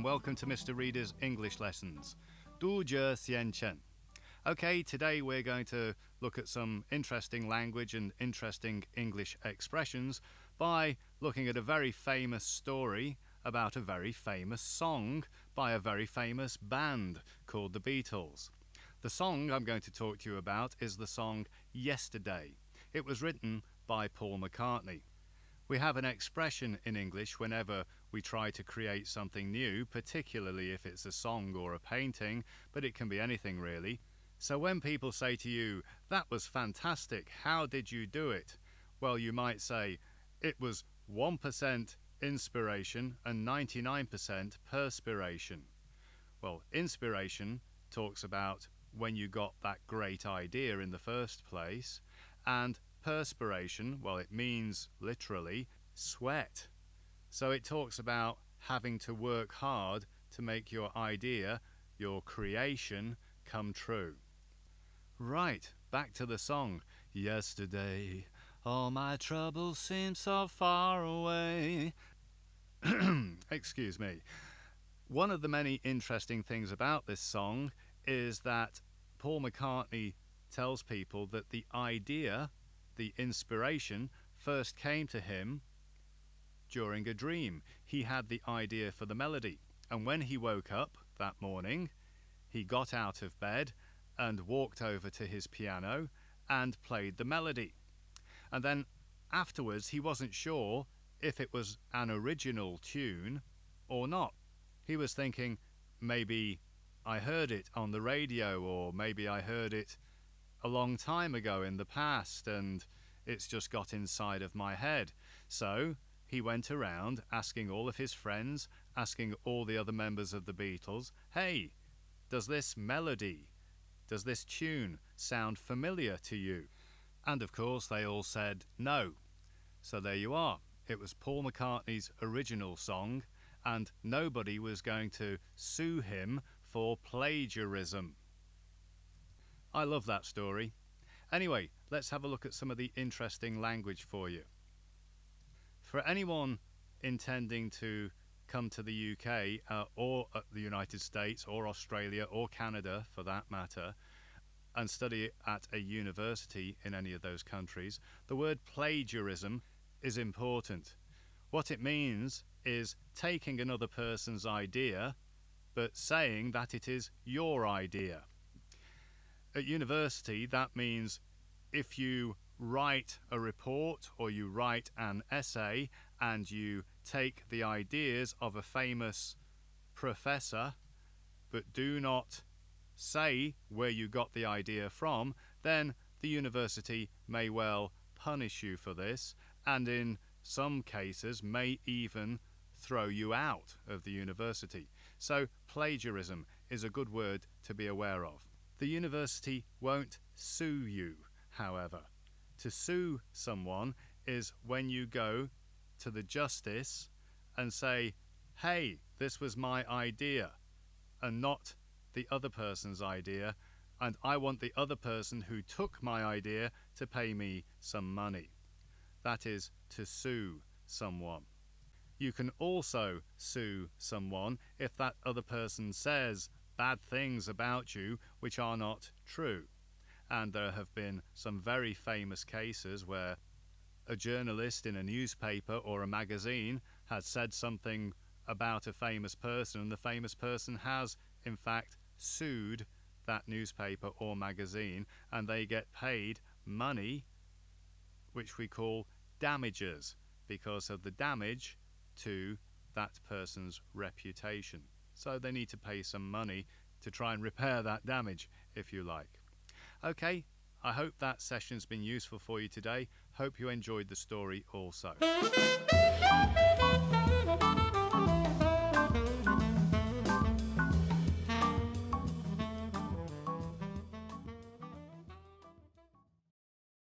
and welcome to Mr. Reader's English Lessons. 读者先生. Okay, today we're going to look at some interesting language and interesting English expressions by looking at a very famous story about a very famous song by a very famous band called the Beatles. The song I'm going to talk to you about is the song Yesterday. It was written by Paul McCartney. We have an expression in English whenever we try to create something new, particularly if it's a song or a painting, but it can be anything really. So when people say to you, "That was fantastic, how did you do it?" Well, you might say, "It was 1% inspiration and 99% perspiration." Well, inspiration talks about when you got that great idea in the first place, and perspiration, well, it means literally sweat. So it talks about having to work hard to make your idea, your creation, come true. Right, back to the song. Yesterday, all my troubles seem so far away. Excuse me. One of the many interesting things about this song is that Paul McCartney tells people that the idea, the inspiration, first came to him during a dream. He had the idea for the melody, and when he woke up that morning, he got out of bed and walked over to his piano and played the melody. And then afterwards he wasn't sure if it was an original tune or not. He was thinking, maybe I heard it on the radio, or maybe I heard it a long time ago in the past and it's just got inside of my head. So he went around asking all of his friends, asking all the other members of the Beatles, "Hey, does this melody, does this tune sound familiar to you?" And of course they all said no. So there you are. It was Paul McCartney's original song, and nobody was going to sue him for plagiarism. I love that story. Anyway, let's have a look at some of the interesting language for you. For anyone intending to come to the UK or the United States or Australia or Canada for that matter and study at a university in any of those countries, the word plagiarism is important. What it means is taking another person's idea but saying that it is your idea. At university, that means if you write a report or you write an essay and you take the ideas of a famous professor but do not say where you got the idea from, then the university may well punish you for this, and in some cases may even throw you out of the university. So plagiarism is a good word to be aware of. The university won't sue you, however. To sue someone is when you go to the justice and say, "Hey, this was my idea," and not the other person's idea, and I want the other person who took my idea to pay me some money. That is to sue someone. You can also sue someone if that other person says bad things about you which are not true. And there have been some very famous cases where a journalist in a newspaper or a magazine has said something about a famous person, and the famous person has, in fact, sued that newspaper or magazine, and they get paid money, which we call damages, because of the damage to that person's reputation. So they need to pay some money to try and repair that damage, if you like. Okay, I hope that session's been useful for you today. Hope you enjoyed the story also.